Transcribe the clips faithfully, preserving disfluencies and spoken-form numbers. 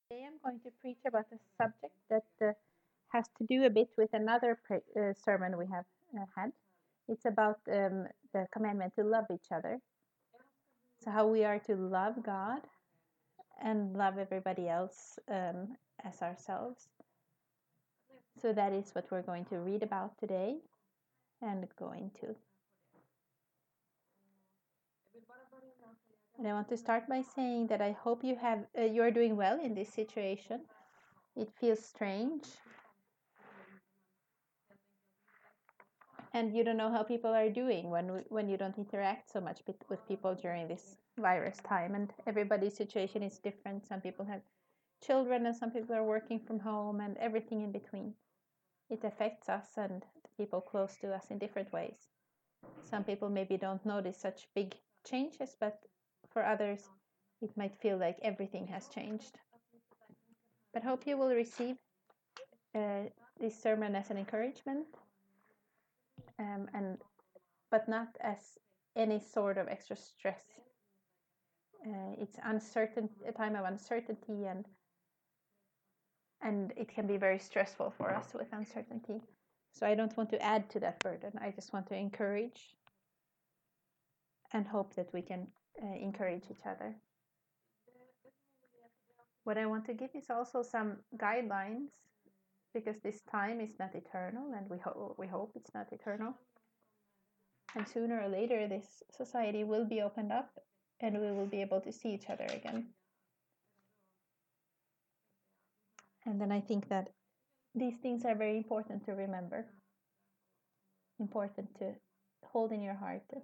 Today I'm going to preach about a subject that uh, has to do a bit with another pre- uh, sermon we have uh, had. It's about um, the commandment to love each other. So, how we are to love God and love everybody else um, as ourselves. So, that is what we're going to read about today and go into. And I want to start by saying that I hope you have uh, you are doing well in this situation. It feels strange, and you don't know how people are doing when when you don't interact so much with people during this virus time, and everybody's situation is different. Some people have children and some people are working from home and everything in between. It affects us and the people close to us in different ways. Some people maybe don't notice such big changes, but for others it might feel like everything has changed. But hope you will receive uh, this sermon as an encouragement, um, and but not as any sort of extra stress. Uh, it's uncertain, a time of uncertainty, and and it can be very stressful for us with uncertainty. So I don't want to add to that burden. I just want to encourage and hope that we can uh, encourage each other. What I want to give is also some guidelines, because this time is not eternal, and we, ho- we hope it's not eternal. And sooner or later, this society will be opened up and we will be able to see each other again. And then I think that these things are very important to remember, important to hold in your heart, and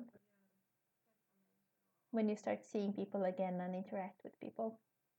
when you start seeing people again and interact with people.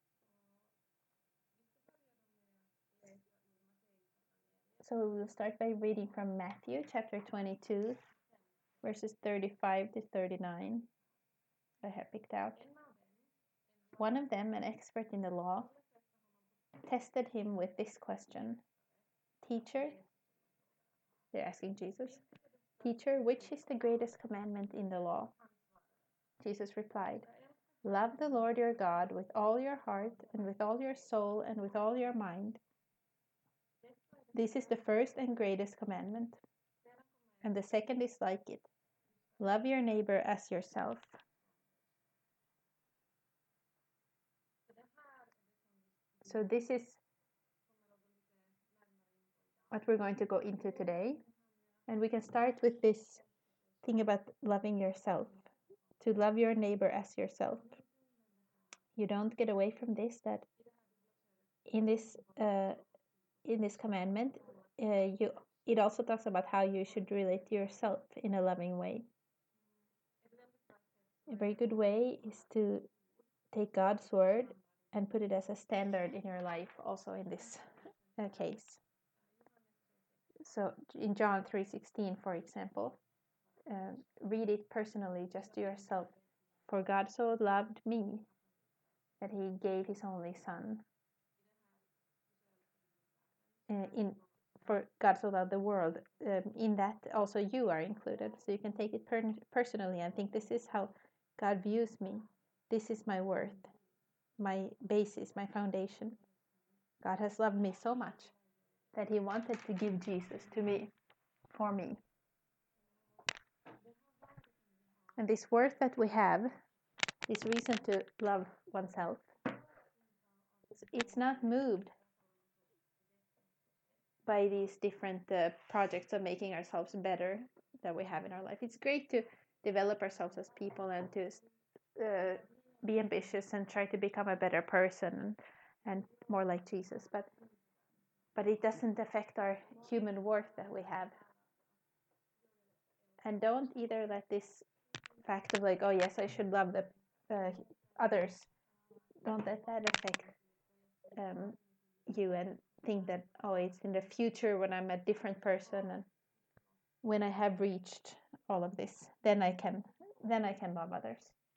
So we'll start by reading from Matthew chapter twenty-two, verses thirty-five to thirty-nine. I have picked out. One of them, an expert in the law, tested him with this question. Teacher, they're asking Jesus, Teacher, which is the greatest commandment in the law? Jesus replied, Love the Lord your God with all your heart and with all your soul and with all your mind. This is the first and greatest commandment. And the second is like it. Love your neighbor as yourself. So this is what we're going to go into today. And we can start with this thing about loving yourself. To love your neighbor as yourself. You don't get away from this, that in this uh, in this commandment, uh, you it also talks about how you should relate to yourself in a loving way. A very good way is to take God's word and put it as a standard in your life, also in this uh, case. So in John three sixteen, for example, uh, read it personally just to yourself. For God so loved me that he gave his only son. Uh, in for God so loved the world. Um, in that also you are included. So you can take it per- personally and think, this is how God views me. This is my worth, my basis, my foundation. God has loved me so much that he wanted to give Jesus to me, for me. And this worth that we have, this reason to love oneself, it's not moved by these different uh, projects of making ourselves better that we have in our life. It's great to develop ourselves as people and to uh, be ambitious and try to become a better person and, and more like Jesus, but but it doesn't affect our human worth that we have. And don't either let this fact of like, oh yes, I should love the uh, others, don't let that affect um, you and think that, oh, it's in the future when I'm a different person and when I have reached all of this, then I can then I can love others.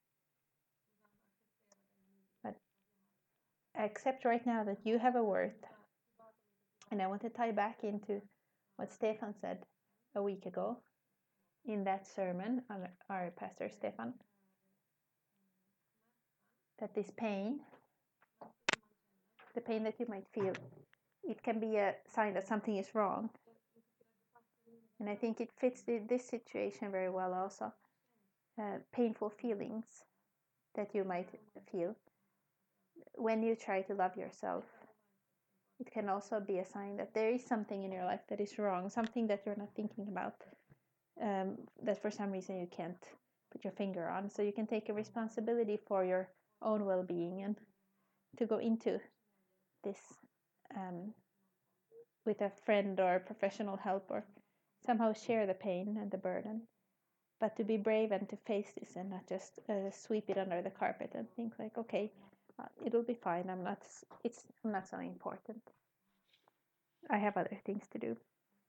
But accept right now that you have a worth. And I want to tie back into what Stefan said a week ago in that sermon, our, our pastor Stefan, that this pain the pain that you might feel, it can be a sign that something is wrong. And I think it fits this situation very well also. Uh, painful feelings that you might feel when you try to love yourself, it can also be a sign that there is something in your life that is wrong, something that you're not thinking about, um, that for some reason you can't put your finger on. So you can take a responsibility for your own well-being and to go into this um, with a friend or professional help, or somehow share the pain and the burden, but to be brave and to face this and not just uh, sweep it under the carpet and think like, okay, uh, it'll be fine. I'm not. It's I'm not so important. I have other things to do.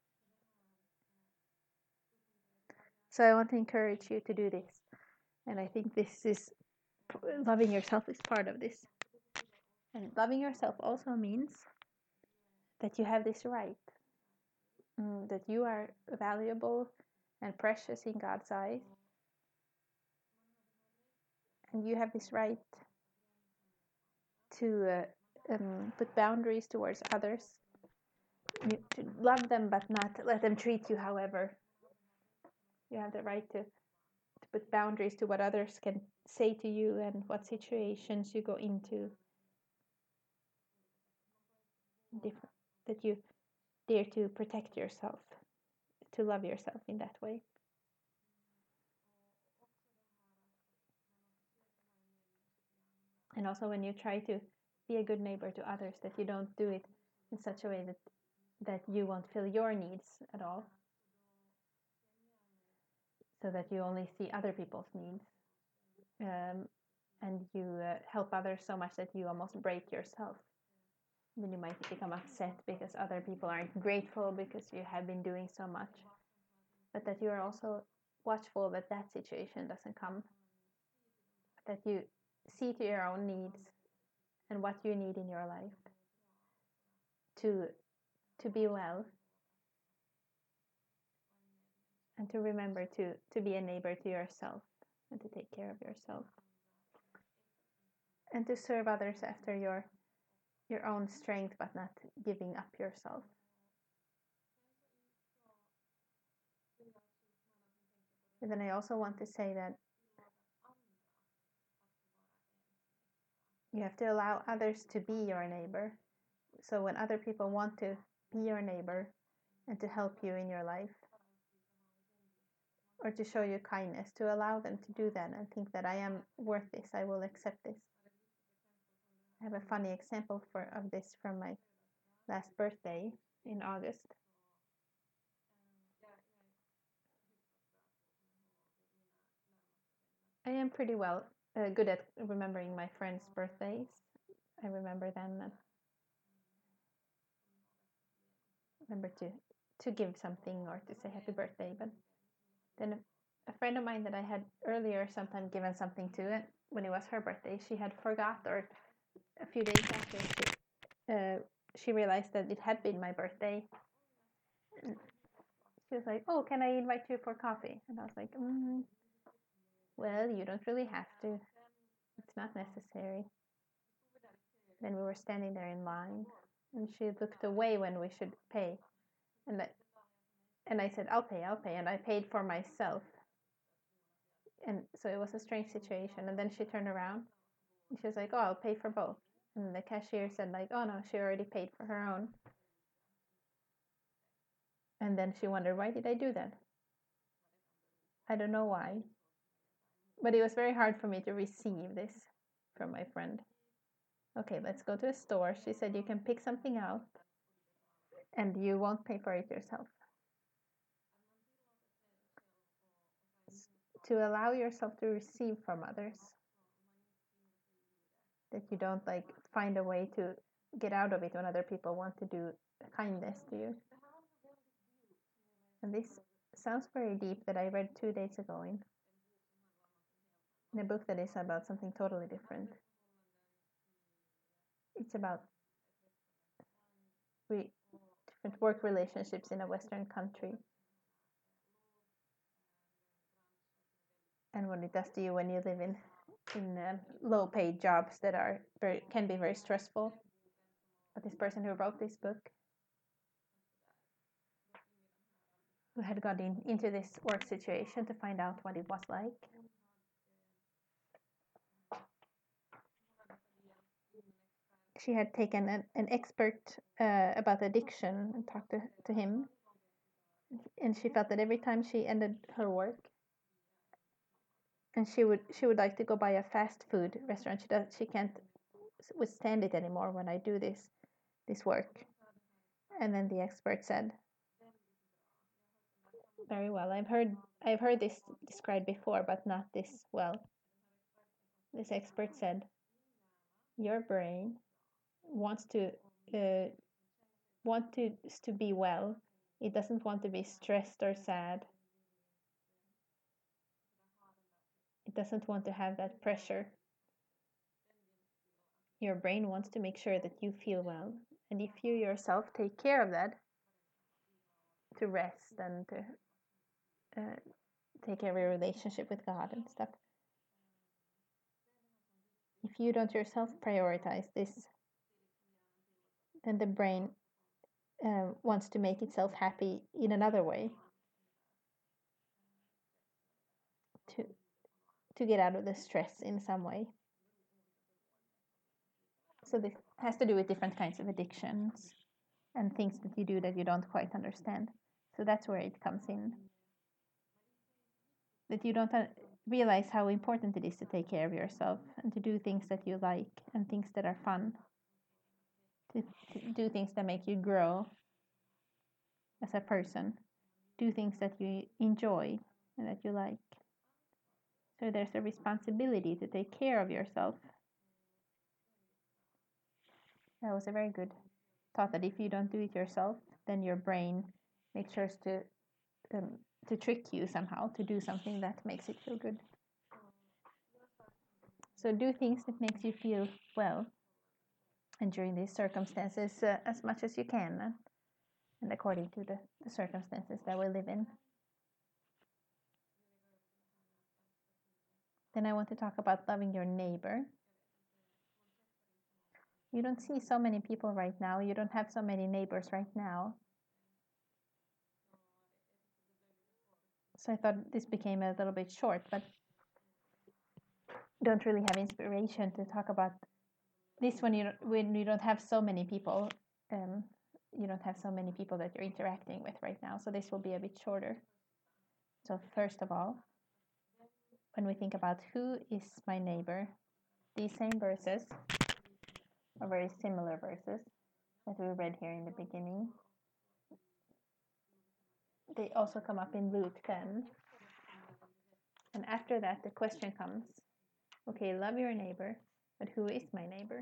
So I want to encourage you to do this, and I think this is loving yourself is part of this. And loving yourself also means that you have this right, mm, that you are valuable and precious in God's eyes, and you have this right to uh, um, put boundaries towards others. You to love them, but not let them treat you however. You have the right to, to put boundaries to what others can say to you and what situations you go into. Different, that you dare to protect yourself, to love yourself in that way. And also when you try to be a good neighbor to others, that you don't do it in such a way that that you won't fill your needs at all, so that you only see other people's needs, um, and you uh, help others so much that you almost break yourself. Then you might become upset because other people aren't grateful because you have been doing so much, but that you are also watchful that that situation doesn't come, that you see to your own needs and what you need in your life to to be well, and to remember to to be a neighbor to yourself and to take care of yourself, and to serve others after your your own strength, but not giving up yourself. And then I also want to say that you have to allow others to be your neighbor. So when other people want to be your neighbor and to help you in your life, or to show you kindness, to allow them to do that and think that I am worth this, I will accept this. I have a funny example for of this from my last birthday in August. I am pretty well uh, good at remembering my friends' birthdays. I remember them and remember to to give something or to say happy birthday. But then a, a friend of mine that I had earlier sometime given something to, and when it was her birthday, she had forgot, or a few days after she uh, she realized that it had been my birthday. And she was like, "Oh, can I invite you for coffee?" And I was like, mm, "Well, you don't really have to. It's not necessary." Then we were standing there in line, and she looked away when we should pay, and I, and I said, "I'll pay, I'll pay," and I paid for myself. And so it was a strange situation. And then she turned around, and she was like, "Oh, I'll pay for both." And the cashier said, like, "Oh no, she already paid for her own." And then she wondered, why did I do that? I don't know why, but it was very hard for me to receive this from my friend. Okay, let's go to a store. She said, you can pick something out and you won't pay for it yourself. To allow yourself to receive from others, that you don't like find a way to get out of it when other people want to do kindness to you. And this sounds very deep, that I read two days ago in, in a book that is about something totally different. It's about re- different work relationships in a Western country, and what it does to you when you live in in uh, low-paid jobs that are very can be very stressful. but this person who wrote this book, who had got in, into this work situation to find out what it was like. She had taken an, an expert uh, about addiction and talked to, to him. And she felt that every time she ended her work, and she would she would like to go by a fast food restaurant. She does she can't withstand it anymore when I do this this work. And then the expert said, very well. I've heard I've heard this described before, but not this well. This expert said, your brain wants to uh, want to to be well. It doesn't want to be stressed or sad. It doesn't want to have that pressure. Your brain wants to make sure that you feel well, and if you yourself take care of that, to rest and to uh, take care of your relationship with God and stuff. If you don't yourself prioritize this, then the brain uh, wants to make itself happy in another way, to to get out of the stress in some way. So this has to do with different kinds of addictions and things that you do that you don't quite understand. So that's where it comes in. That you don't realize how important it is to take care of yourself and to do things that you like and things that are fun. To, to do things that make you grow as a person. Do things that you enjoy and that you like. So there's a responsibility to take care of yourself. That was a very good thought, that if you don't do it yourself, then your brain makes sure to um, to trick you somehow to do something that makes it feel good. So do things that makes you feel well, and during these circumstances uh, as much as you can, uh, and according to the, the circumstances that we live in. Then I want to talk about loving your neighbor. You don't see so many people right now. You don't have so many neighbors right now. So I thought this became a little bit short, but don't really have inspiration to talk about this when you don't, when you don't have so many people. Um, you don't have so many people that you're interacting with right now. So this will be a bit shorter. So first of all, when we think about who is my neighbor, these same verses are very similar verses that we read here in the beginning. They also come up in Luke ten. And after that, the question comes, okay, love your neighbor, but who is my neighbor?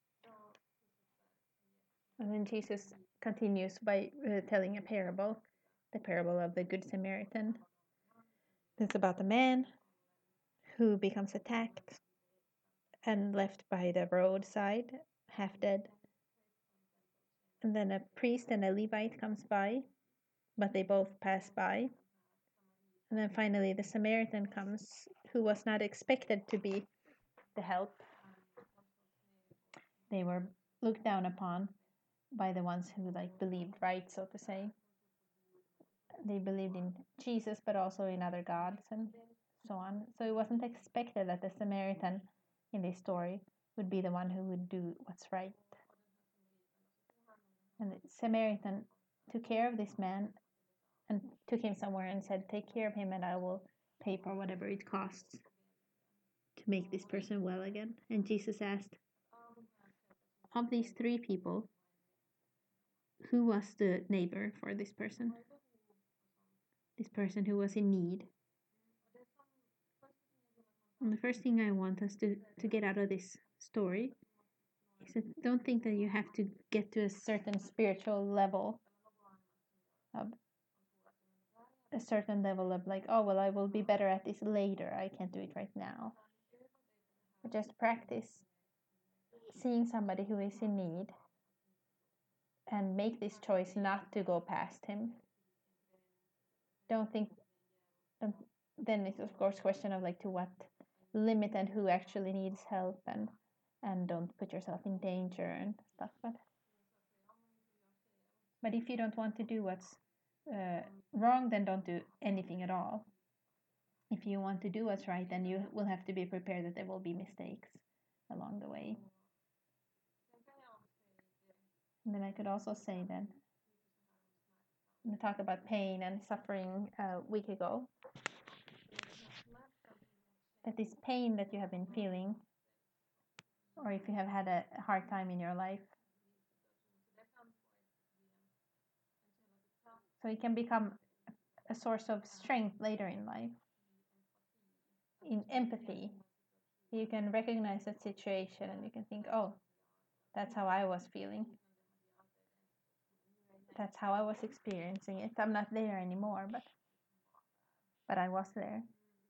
And then Jesus continues by uh, telling a parable, the parable of the Good Samaritan. It's about a man who becomes attacked and left by the roadside, half dead. And then a priest and a Levite comes by, but they both pass by. And then finally the Samaritan comes, who was not expected to be the help. They were looked down upon by the ones who like believed right, so to say. They believed in Jesus, but also in other gods and so on. So it wasn't expected that the Samaritan in this story would be the one who would do what's right. And the Samaritan took care of this man and took him somewhere and said, take care of him and I will pay for whatever it costs to make this person well again. And Jesus asked, of these three people, who was the neighbor for this person? This person who was in need. And the first thing I want us to, to get out of this story is that don't think that you have to get to a certain spiritual level of a certain level of like, oh, well, I will be better at this later. I can't do it right now. But just practice seeing somebody who is in need and make this choice not to go past him. Don't think, um, then it's of course question of like to what limit and who actually needs help, and and don't put yourself in danger and stuff. But But if you don't want to do what's uh, wrong, then don't do anything at all. If you want to do what's right, then you will have to be prepared that there will be mistakes along the way. And then I could also say that we talked about pain and suffering a week ago. That this pain that you have been feeling, or if you have had a hard time in your life, so it can become a source of strength later in life. In empathy, you can recognize that situation and you can think, oh, that's how I was feeling. That's how I was experiencing it. I'm not there anymore, but but I was there.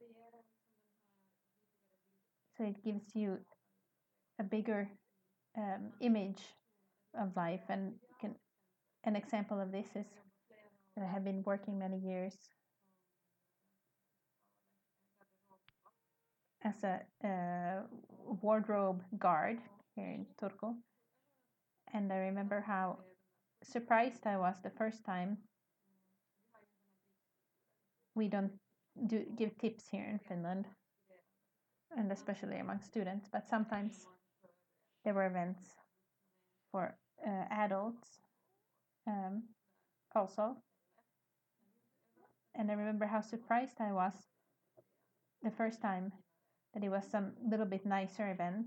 So it gives you a bigger um, image of life. And can, an example of this is that I have been working many years as a uh, wardrobe guard here in Turku. And I remember how surprised I was the first time. We don't do give tips here in Finland, and especially among students, but sometimes there were events for uh, adults um, also. And I remember how surprised I was the first time that it was some little bit nicer event.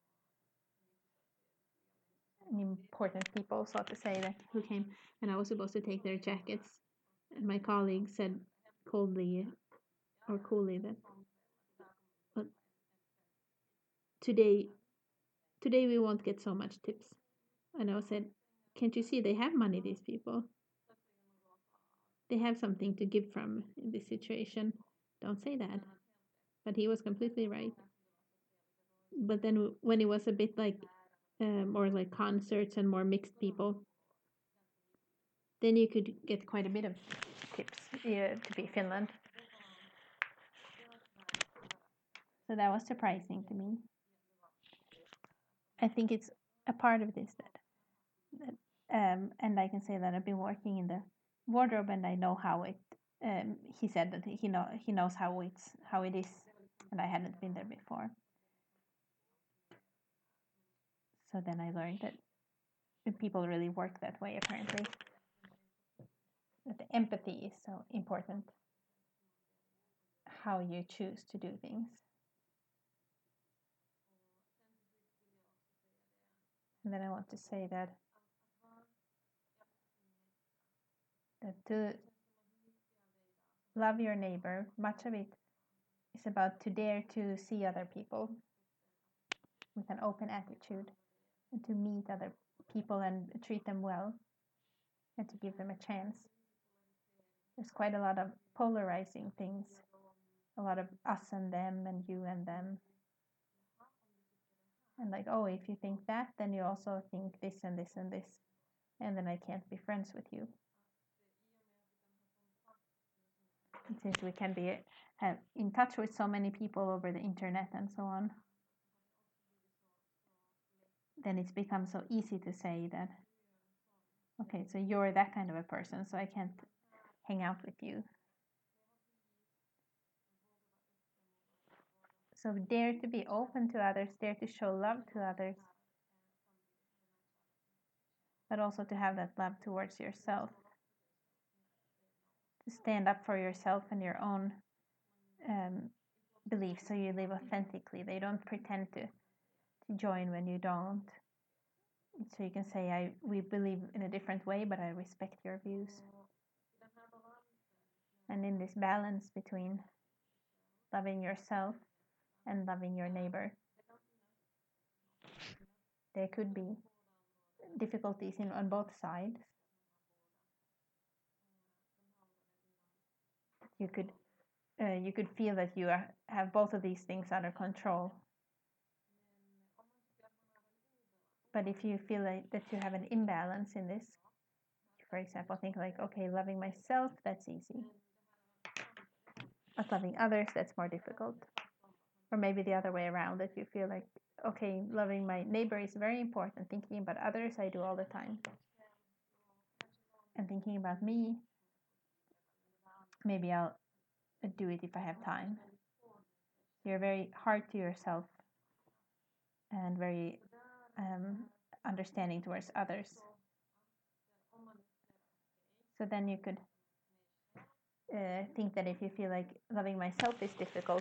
And important people, so to say, that who came, and I was supposed to take their jackets. And my colleague said coldly or coolly that, but today, today we won't get so much tips. And I said, can't you see they have money, these people? They have something to give from in this situation. Don't say that. But he was completely right. But then when it was a bit like uh, more like concerts and more mixed people, then you could get quite a bit of tips uh, to be Finland. So that was surprising to me. I think it's a part of this that, that um, and I can say that I've been working in the wardrobe and I know how it. Um, he said that he know he knows how it's how it is, and I hadn't been there before. So then I learned that people really work that way, apparently. That the empathy is so important. How you choose to do things. And then I want to say that that to love your neighbor, much of it is about to dare to see other people with an open attitude and to meet other people and treat them well and to give them a chance. There's quite a lot of polarizing things, a lot of us and them and you and them. And like, oh, if you think that, then you also think this and this and this. And then I can't be friends with you. And since we can be have in touch with so many people over the internet and so on, then it's become so easy to say that, okay, so you're that kind of a person, so I can't hang out with you. So dare to be open to others, dare to show love to others, but also to have that love towards yourself. To stand up for yourself and your own um, beliefs, so you live authentically. They don't pretend to, to join when you don't. So you can say, I we believe in a different way, but I respect your views. And in this balance between loving yourself and loving your neighbor, there could be difficulties in on both sides. You could uh, you could feel that you are, have both of these things under control. But if you feel like that you have an imbalance in this, for example, think like, okay, loving myself, that's easy. But loving others, that's more difficult. Or maybe the other way around, that you feel like, okay, loving my neighbor is very important. Thinking about others, I do all the time. and thinking about me. Maybe I'll do it if I have time. You're very hard to yourself and very um, understanding towards others. So then you could uh, think that if you feel like loving myself is difficult,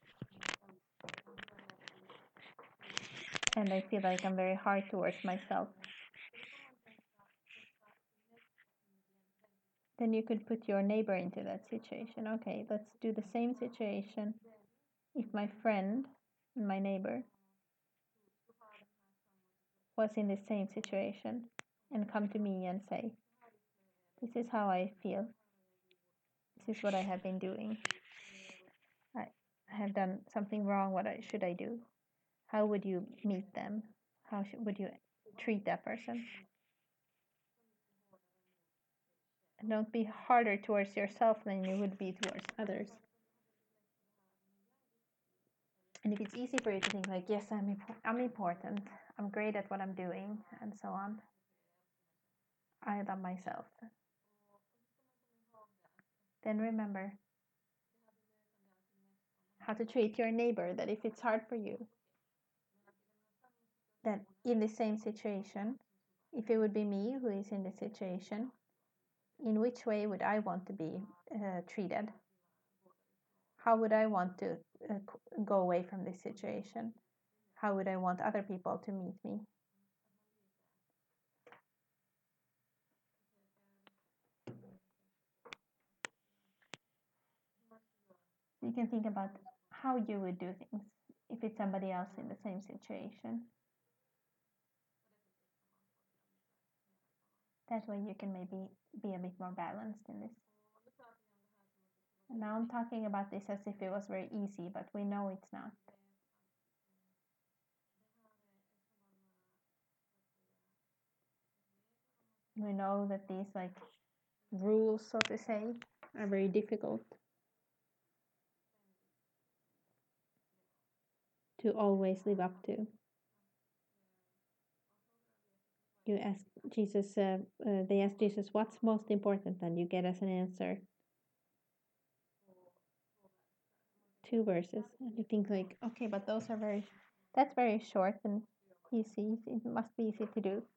and I feel like I'm very hard towards myself, then you could put your neighbor into that situation. Okay, let's do the same situation. If my friend, my neighbor, was in the same situation and come to me and say, this is how I feel. This is what I have been doing. I have done something wrong. What I, should I do? How would you meet them? How should, would you treat that person? And don't be harder towards yourself than you would be towards others. And if it's easy for you to think like, yes, I'm, imp- I'm important, I'm great at what I'm doing, and so on, I love myself, then remember how to treat your neighbor, that if it's hard for you, that in the same situation, if it would be me who is in the situation, in which way would I want to be uh, treated? How would I want to uh, go away from this situation? How would I want other people to meet me? You can think about how you would do things if it's somebody else in the same situation. That way you can maybe be a bit more balanced in this. And now I'm talking about this as if it was very easy, but we know it's not. We know that these like rules, so to say, are very difficult to always live up to. You ask Jesus, uh, uh, they ask Jesus, what's most important? And you get as an answer two verses. And you think like, okay, but those are very, that's very short and easy. It must be easy to do.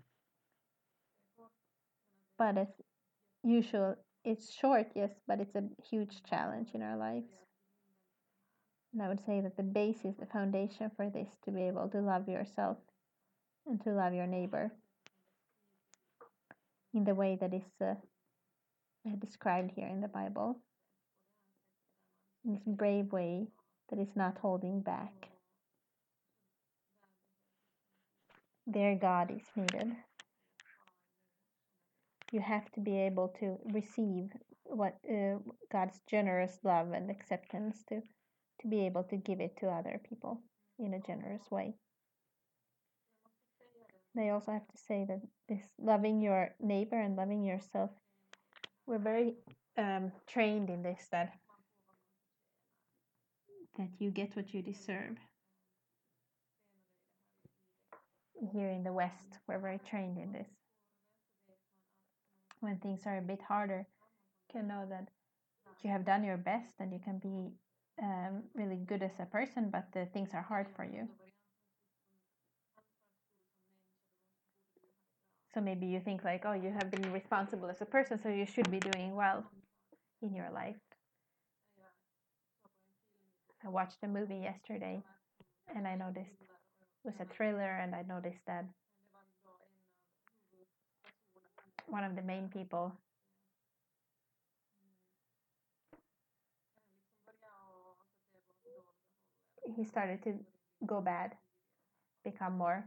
But as usual, it's short, yes, but it's a huge challenge in our lives. And I would say that the basis, the foundation for this, to be able to love yourself and to love your neighbor in the way that is uh, described here in the Bible, in this brave way that is not holding back. There, God is needed. You have to be able to receive what uh, God's generous love and acceptance to, to be able to give it to other people in a generous way. They also have to say that this loving your neighbor and loving yourself, we're very um, trained in this, that that you get what you deserve. Here in the West, we're very trained in this. When things are a bit harder, you can know that you have done your best and you can be um, really good as a person, but the things are hard for you. So maybe you think like, oh, you have been responsible as a person, so you should be doing well in your life. I watched a movie yesterday and I noticed it was a thriller, and I noticed that one of the main people, he started to go bad, become more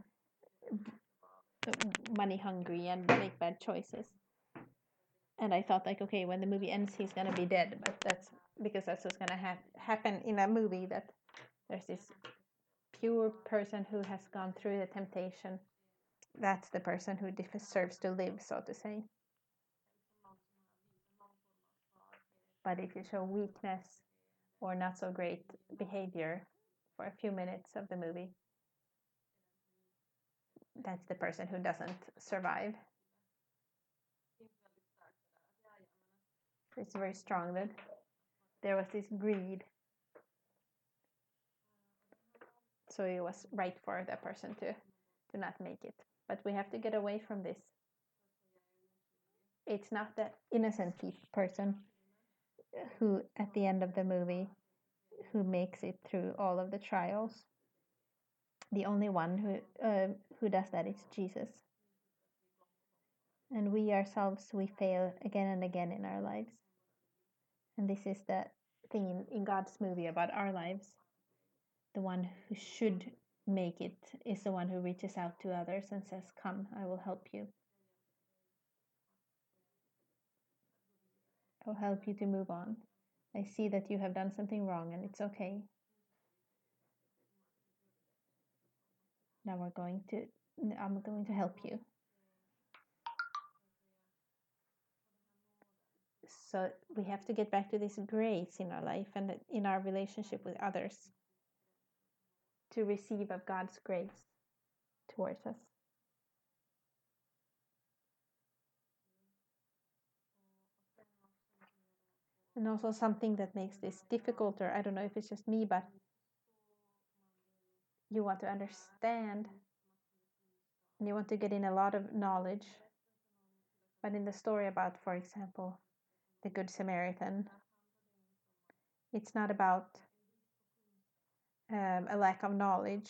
money hungry and make bad choices. And I thought like, okay, when the movie ends, he's gonna be dead. But that's because that's what's gonna ha- happen in a movie, that there's this pure person who has gone through the temptation. That's the person who deserves to live, so to say. But if you show weakness or not so great behavior for a few minutes of the movie, that's the person who doesn't survive. It's very strong that there was this greed. So it was right for that person to, to not make it. But we have to get away from this. It's not the innocent person who, at the end of the movie, who makes it through all of the trials. The only one who uh, who does that is Jesus. And we ourselves, we fail again and again in our lives. And this is the thing in, in God's movie about our lives. The one who should make it is the one who reaches out to others and says, "Come, I will help you. I will help you to move on. I see that you have done something wrong and it's okay. Now we're going to, I'm going to help you." So we have to get back to this grace in our life and in our relationship with others, to receive of God's grace towards us. And also something that makes this difficult, or I don't know if it's just me, but you want to understand and you want to get in a lot of knowledge. But in the story about, for example, the Good Samaritan, it's not about um, a lack of knowledge.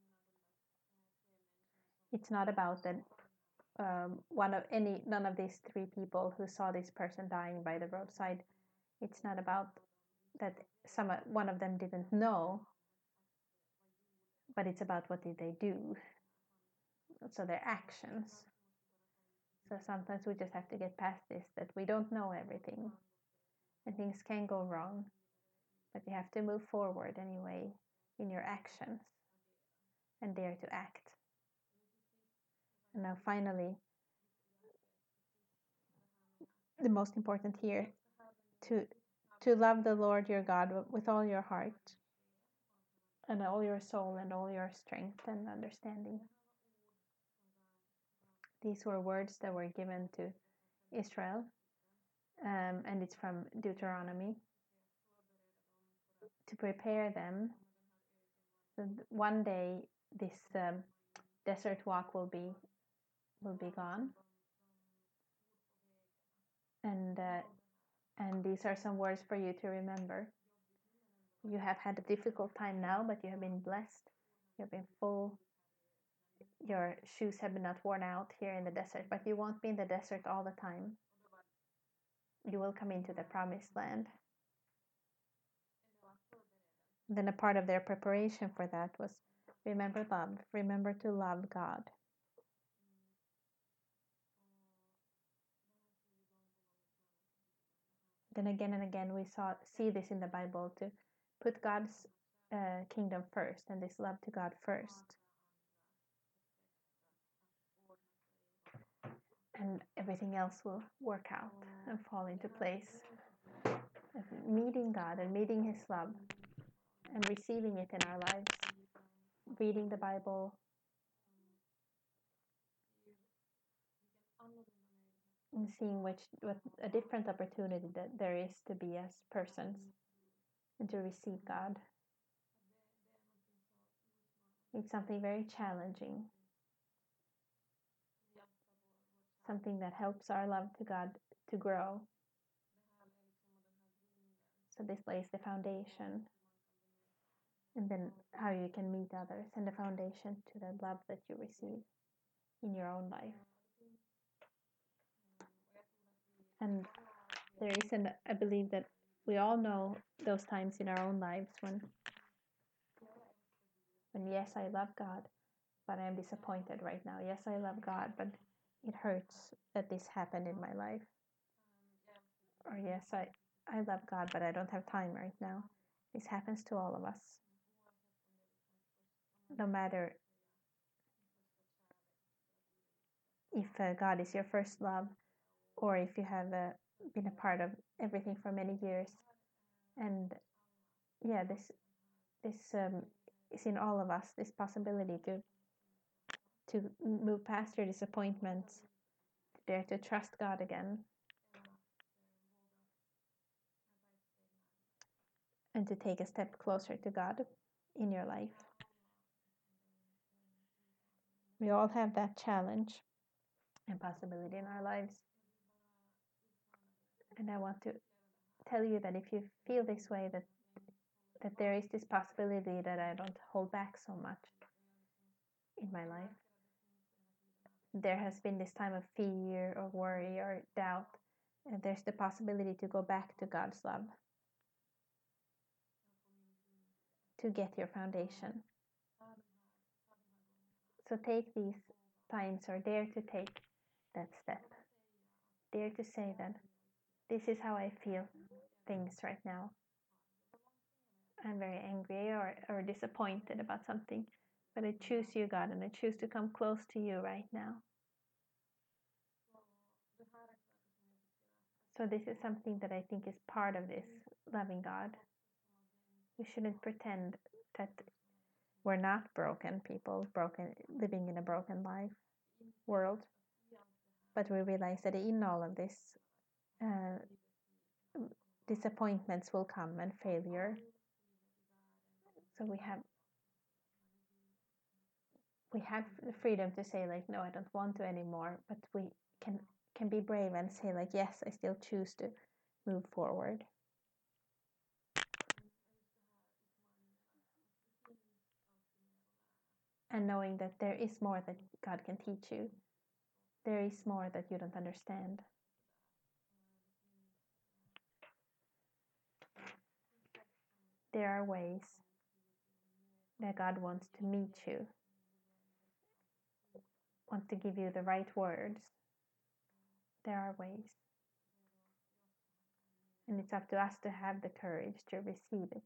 It's not about that um, one of any none of these three people who saw this person dying by the roadside. It's not about that some one of them didn't know, but it's about what did they do. So their actions. So sometimes we just have to get past this, that we don't know everything and things can go wrong, but you have to move forward anyway in your actions and dare to act. And now finally, the most important here, to to love the Lord your God with all your heart and all your soul and all your strength and understanding. These were words that were given to Israel, um, and it's from Deuteronomy, to prepare them. So one day this um, desert walk will be will be gone, and uh, and these are some words for you to remember. You have had a difficult time now, but you have been blessed. You have been full. Your shoes have been not worn out here in the desert, but you won't be in the desert all the time. You will come into the promised land. Then a part of their preparation for that was remember love. Remember to love God. Then again and again we saw see this in the Bible, to put God's uh, kingdom first and this love to God first. And everything else will work out and fall into place. Meeting God and meeting His love and receiving it in our lives. Reading the Bible. And seeing which what a different opportunity that there is to be as persons and to receive God. It's something very challenging. Something that helps our love to God to grow. So this lays the foundation. And then how you can meet others, and the foundation to the love that you receive in your own life. And there is an, I believe that we all know those times in our own lives when, when yes, I love God, but I am disappointed right now. Yes, I love God, but it hurts that this happened in my life. Or yes, I, I love God, but I don't have time right now. This happens to all of us. No matter if uh, God is your first love, or if you have uh, been a part of everything for many years. And yeah, this this um, is in all of us, this possibility to to move past your disappointments, to dare to trust God again. and to take a step closer to God in your life. We all have that challenge and possibility in our lives. And I want to tell you that if you feel this way, that that there is this possibility that I don't hold back so much in my life. There has been this time of fear or worry or doubt, and there's the possibility to go back to God's love, to get your foundation. So take these times, or dare to take that step. Dare to say that this is how I feel things right now. I'm very angry or, or disappointed about something, but I choose you, God, and I choose to come close to you right now. So this is something that I think is part of this loving God. We shouldn't pretend that we're not broken people, broken, living in a broken life world, but we realize that in all of this, uh, disappointments will come and failure. So we have we have the freedom to say, like, no, I don't want to anymore, but we can can be brave and say, like, yes, I still choose to move forward. And knowing that there is more that God can teach you. There is more that you don't understand. There are ways that God wants to meet you, wants to give you the right words. There are ways. And it's up to us to have the courage to receive it.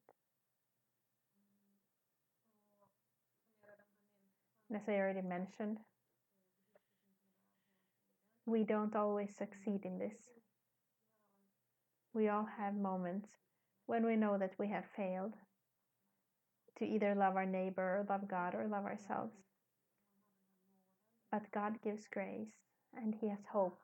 And as I already mentioned, we don't always succeed in this. We all have moments when we know that we have failed to either love our neighbor or love God or love ourselves. But God gives grace and He has hope.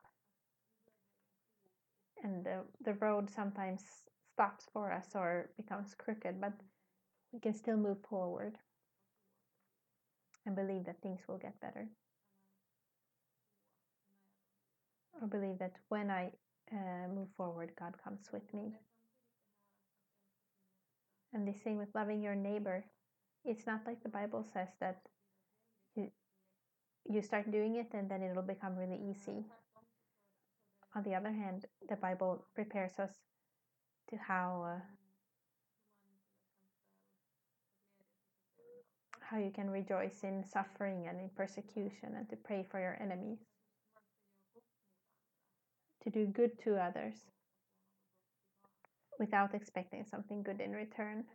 And the, the road sometimes stops for us or becomes crooked, but we can still move forward and believe that things will get better. Or believe that when I uh, move forward, God comes with me. And the same with loving your neighbor. It's not like the Bible says that you, you start doing it and then it'll become really easy. On the other hand, the Bible prepares us to how uh, how you can rejoice in suffering and in persecution, and to pray for your enemies, to do good to others without expecting something good in return.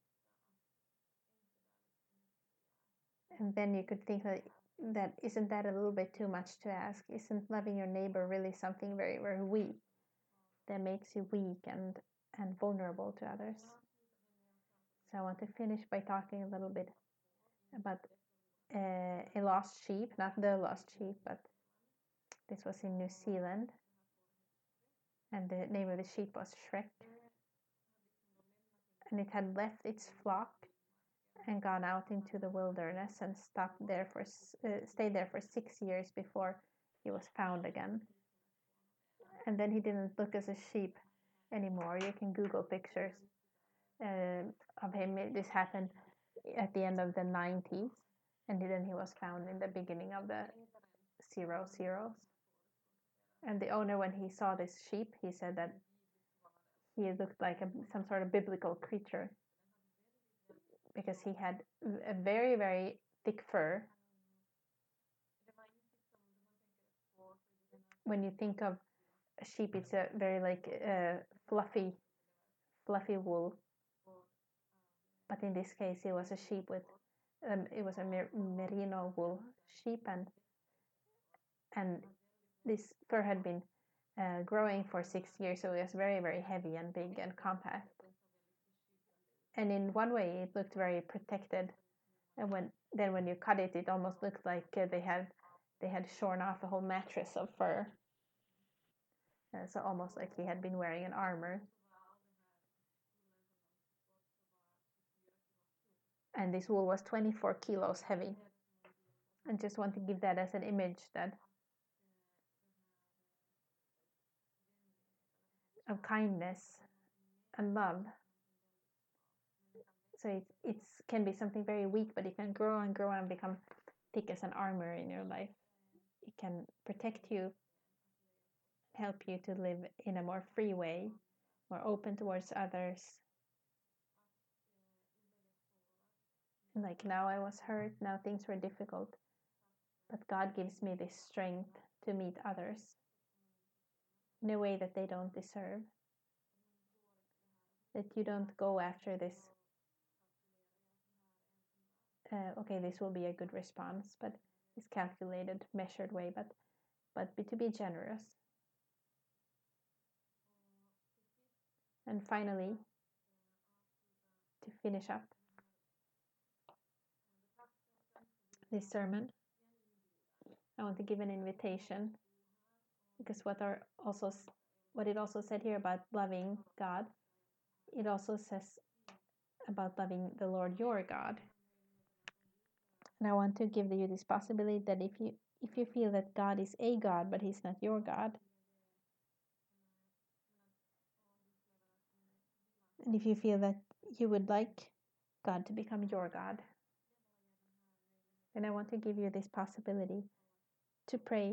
And then you could think that, that isn't that a little bit too much to ask? Isn't loving your neighbor really something very, very weak, that makes you weak and, and vulnerable to others? So I want to finish by talking a little bit about uh, a lost sheep, not the lost sheep, but this was in New Zealand, and the name of the sheep was Shrek. And it had left its flock and gone out into the wilderness and stopped there for uh, stayed there for six years before he was found again. And then he didn't look as a sheep anymore. You can Google pictures uh, of him. This happened at the end of the nineties, and then he was found in the beginning of the zero zeros. And the owner, when he saw this sheep, he said that he looked like a, some sort of biblical creature, because he had a very, very thick fur. When you think of a sheep, it's a very like uh, fluffy, fluffy wool. But in this case, it was a sheep with, um, it was a mer- merino wool sheep, and and this fur had been uh, growing for six years, so it was very, very heavy and big and compact. And in one way, it looked very protected. And when then when you cut it, it almost looked like uh, they had they had shorn off a whole mattress of fur. Uh, so almost like he had been wearing an armor. and this wool was twenty-four kilos heavy. I just want to give that as an image that of kindness and love. So it it's can be something very weak, but it can grow and grow and become thick as an armor in your life. It can protect you, help you to live in a more free way, more open towards others. Like now I was hurt, now things were difficult, but God gives me this strength to meet others in a way that they don't deserve. That you don't go after this, uh, okay, this will be a good response, but this calculated, measured way, but but be, to be generous. And finally, to finish up this sermon, I want to give an invitation, because what are also what it also said here about loving God, it also says about loving the Lord your God. And I want to give you this possibility that if you if you feel that God is a God but he's not your God, and if you feel that you would like God to become your God, then I want to give you this possibility to pray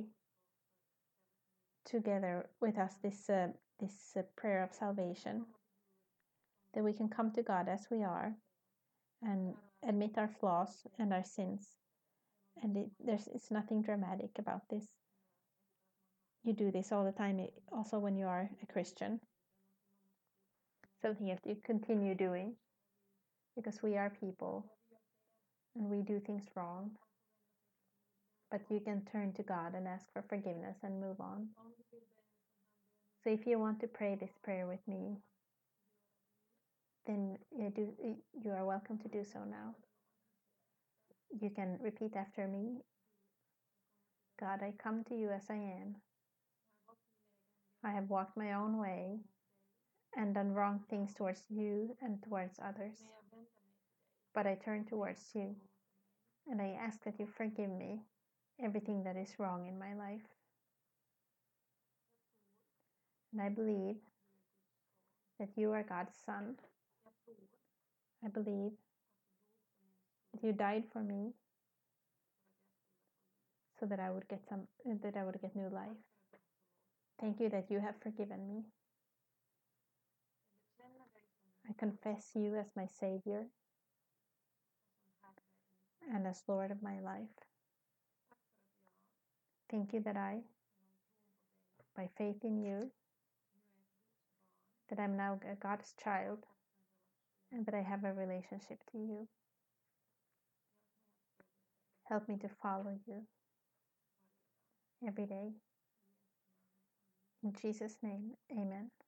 together with us this uh, this uh, prayer of salvation, that we can come to God as we are and admit our flaws and our sins. And it, there's it's nothing dramatic about this. You do this all the time, also when you are a Christian. Something you have to continue doing, because we are people and we do things wrong. But you can turn to God and ask for forgiveness and move on. So if you want to pray this prayer with me, then you, do, you are welcome to do so now. You can repeat after me. God, I come to you as I am. I have walked my own way and done wrong things towards you and towards others. But I turn towards you, and I ask that you forgive me everything that is wrong in my life. And I believe that you are God's Son. I believe that you died for me so that I would get some that I would get new life. Thank you that you have forgiven me. I confess you as my Savior and as Lord of my life. Thank you that I, by faith in you, that I'm now a God's child and that I have a relationship to you. Help me to follow you every day. In Jesus' name, amen.